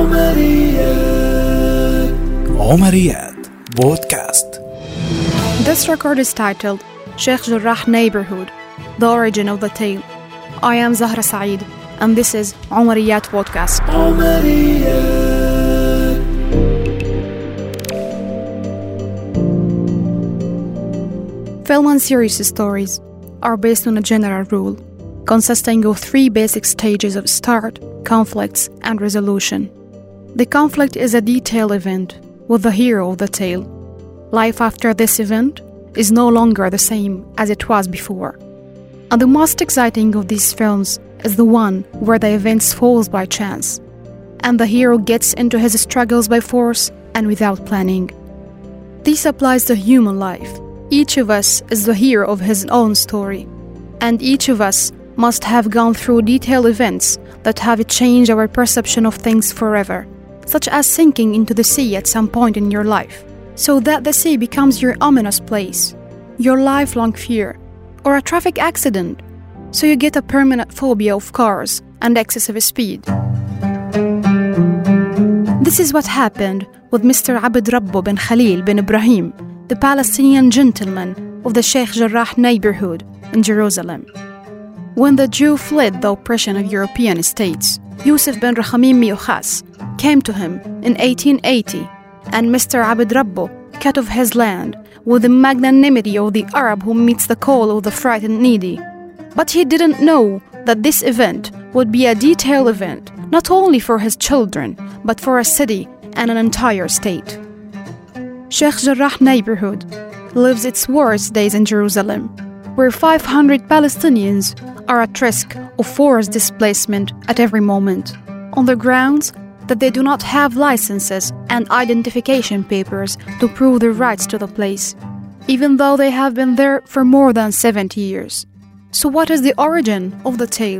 عمريات بودكاست. This record is titled Sheikh Jarrah Neighborhood, The Origin of the Tale. I am Zahra Saeed, and this is Umariyat Podcast. Film and series stories are based on a general rule, consisting of three basic stages of start, conflicts, and resolution. The conflict is a detailed event with the hero of the tale. Life after this event is no longer the same as it was before. And the most exciting of these films is the one where the events falls by chance, and the hero gets into his struggles by force and without planning. This applies to human life. Each of us is the hero of his own story, and each of us must have gone through detailed events that have changed our perception of things forever, such as sinking into the sea at some point in your life, so that the sea becomes your ominous place, your lifelong fear, or a traffic accident, so you get a permanent phobia of cars and excessive speed. This is what happened with Mr. Abd Rabbo bin Khalil bin Ibrahim, the Palestinian gentleman of the Sheikh Jarrah neighborhood in Jerusalem. When the Jew fled the oppression of European states, Yusuf bin Rakhamim Miyukhas came to him in 1880, and Mr. Abd Rabbo cut off his land with the magnanimity of the Arab who meets the call of the frightened needy. But he didn't know that this event would be a detailed event, not only for his children, but for a city and an entire state. Sheikh Jarrah neighborhood lives its worst days in Jerusalem, where 500 Palestinians are at risk of forced displacement at every moment, on the grounds that they do not have licenses and identification papers to prove their rights to the place, even though they have been there for more than 70 years. So what is the origin of the tale?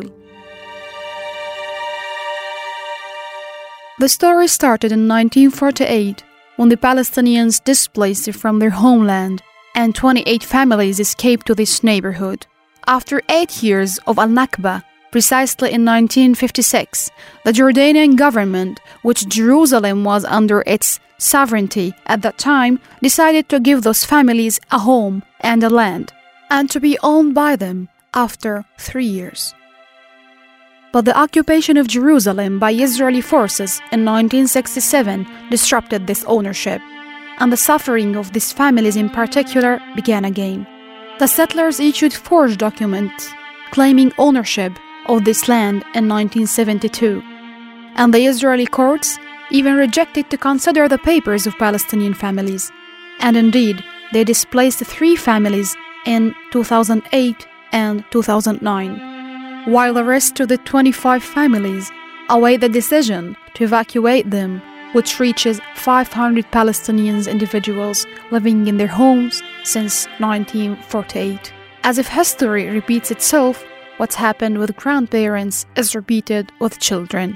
The story started in 1948, when the Palestinians displaced from their homeland, and 28 families escaped to this neighborhood. After 8 years of Al-Nakba, precisely in 1956, the Jordanian government, which Jerusalem was under its sovereignty at that time, decided to give those families a home and a land, and to be owned by them after 3 years. But the occupation of Jerusalem by Israeli forces in 1967 disrupted this ownership, and the suffering of these families in particular began again. The settlers issued forged documents claiming ownership of this land in 1972, and the Israeli courts even rejected to consider the papers of Palestinian families. And indeed, they displaced 3 families in 2008 and 2009. While the rest of the 25 families await the decision to evacuate them, which reaches 500 Palestinian individuals living in their homes since 1948. As if history repeats itself, what's happened with grandparents is repeated with children.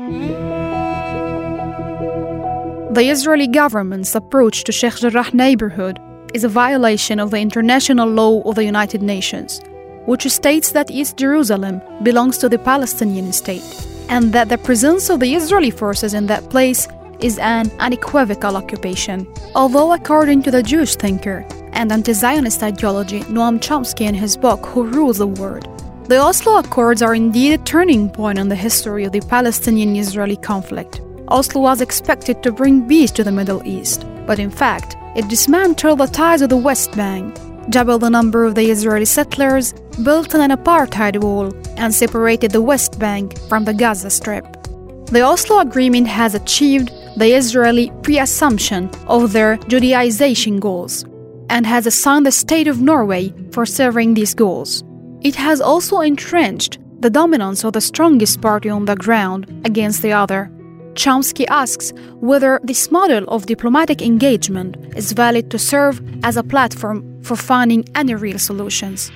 The Israeli government's approach to Sheikh Jarrah neighborhood is a violation of the international law of the United Nations, which states that East Jerusalem belongs to the Palestinian state, and that the presence of the Israeli forces in that place is an unequivocal occupation. Although according to the Jewish thinker and anti-Zionist ideology Noam Chomsky in his book Who Rules the World, the Oslo Accords are indeed a turning point in the history of the Palestinian-Israeli conflict. Oslo was expected to bring peace to the Middle East, but in fact, it dismantled the ties of the West Bank, doubled the number of the Israeli settlers, built an apartheid wall, and separated the West Bank from the Gaza Strip. The Oslo Agreement has achieved the Israeli pre-assumption of their Judaization goals, and has assigned the state of Norway for serving these goals. It has also entrenched the dominance of the strongest party on the ground against the other. Chomsky asks whether this model of diplomatic engagement is valid to serve as a platform for finding any real solutions.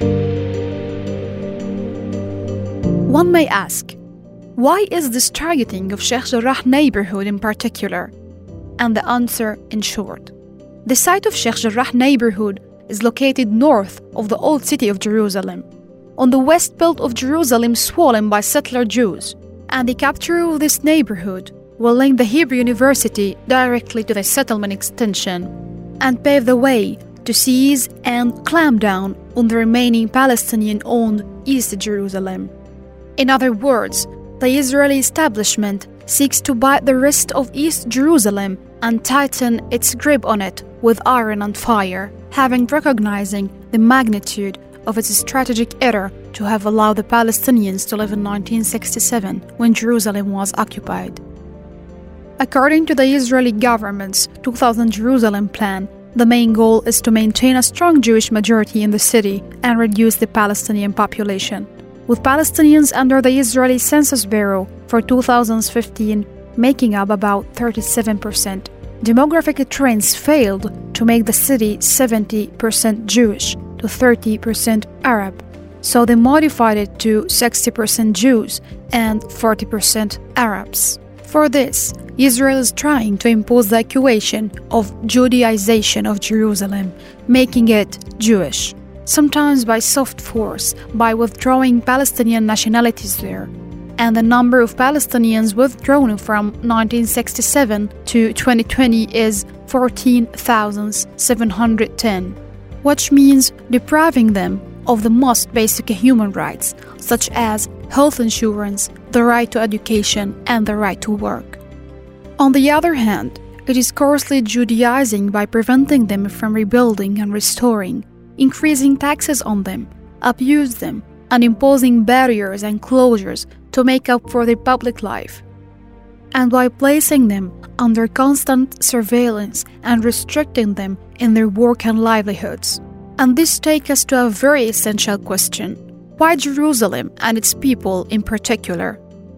One may ask, why is this targeting of Sheikh Jarrah neighborhood in particular? And the answer in short. The site of Sheikh Jarrah neighborhood is located north of the old city of Jerusalem, on the west belt of Jerusalem swollen by settler Jews, and the capture of this neighborhood will link the Hebrew University directly to the settlement extension and pave the way to seize and clamp down on the remaining Palestinian-owned East Jerusalem. In other words, the Israeli establishment seeks to bite the wrist of East Jerusalem and tighten its grip on it with iron and fire, having recognizing the magnitude of its strategic error to have allowed the Palestinians to live in 1967 when Jerusalem was occupied. According to the Israeli government's 2000 Jerusalem plan, the main goal is to maintain a strong Jewish majority in the city and reduce the Palestinian population, with Palestinians under the Israeli Census Bureau for 2015 making up about 37%. Demographic trends failed to make the city 70% Jewish to 30% Arab, so they modified it to 60% Jews and 40% Arabs. For this, Israel is trying to impose the equation of Judaization of Jerusalem, making it Jewish, sometimes by soft force, by withdrawing Palestinian nationalities there. And the number of Palestinians withdrawn from 1967 to 2020 is 14,710, which means depriving them of the most basic human rights, such as health insurance, the right to education, and the right to work. On the other hand, it is coarsely Judaizing by preventing them from rebuilding and restoring, increasing taxes on them, abuse them, and imposing barriers and closures to make up for their public life, and by placing them under constant surveillance and restricting them in their work and livelihoods. And this takes us to a very essential question: why Jerusalem and its people in particular?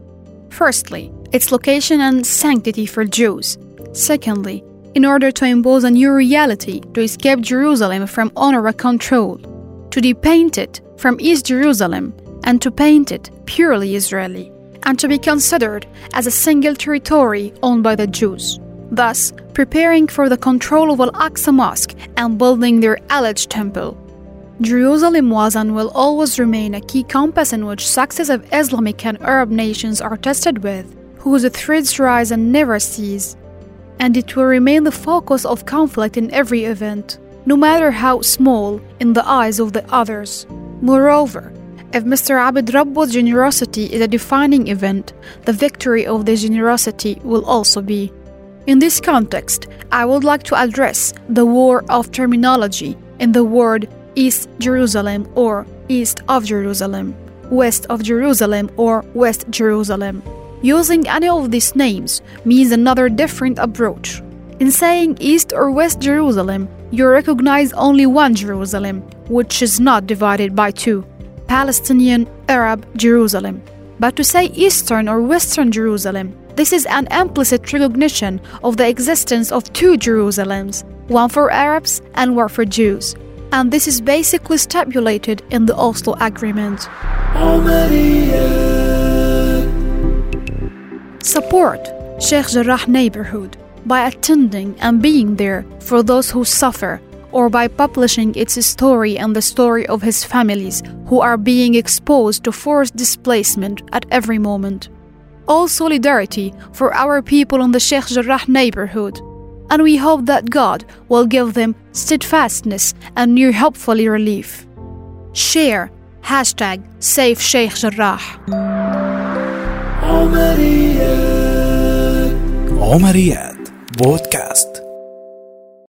Firstly, its location and sanctity for Jews. Secondly, in order to impose a new reality to escape Jerusalem from UNRWA control, to depaint it from East Jerusalem and to paint it purely Israeli, and to be considered as a single territory owned by the Jews, thus preparing for the control of Al-Aqsa Mosque and building their alleged temple. Jerusalem was and will always remain a key compass in which successive Islamic and Arab nations are tested with, whose threads rise and never cease, and it will remain the focus of conflict in every event, no matter how small in the eyes of the others. Moreover, if Mr. Abd Rabbu's generosity is a defining event, the victory of the generosity will also be. In this context, I would like to address the war of terminology in the word East Jerusalem or East of Jerusalem, West of Jerusalem or West Jerusalem. Using any of these names means another different approach. In saying East or West Jerusalem, you recognize only one Jerusalem, which is not divided by two, Palestinian Arab Jerusalem. But to say Eastern or Western Jerusalem, this is an implicit recognition of the existence of two Jerusalems, one for Arabs and one for Jews. And this is basically stipulated in the Oslo Agreement. Support Sheikh Jarrah neighborhood by attending and being there for those who suffer, or by publishing its story and the story of his families who are being exposed to forced displacement at every moment. All solidarity for our people in the Sheikh Jarrah neighborhood, and we hope that God will give them steadfastness and near hopefully relief. Share #Save Sheikh Jarrah. عمريات بودكاست.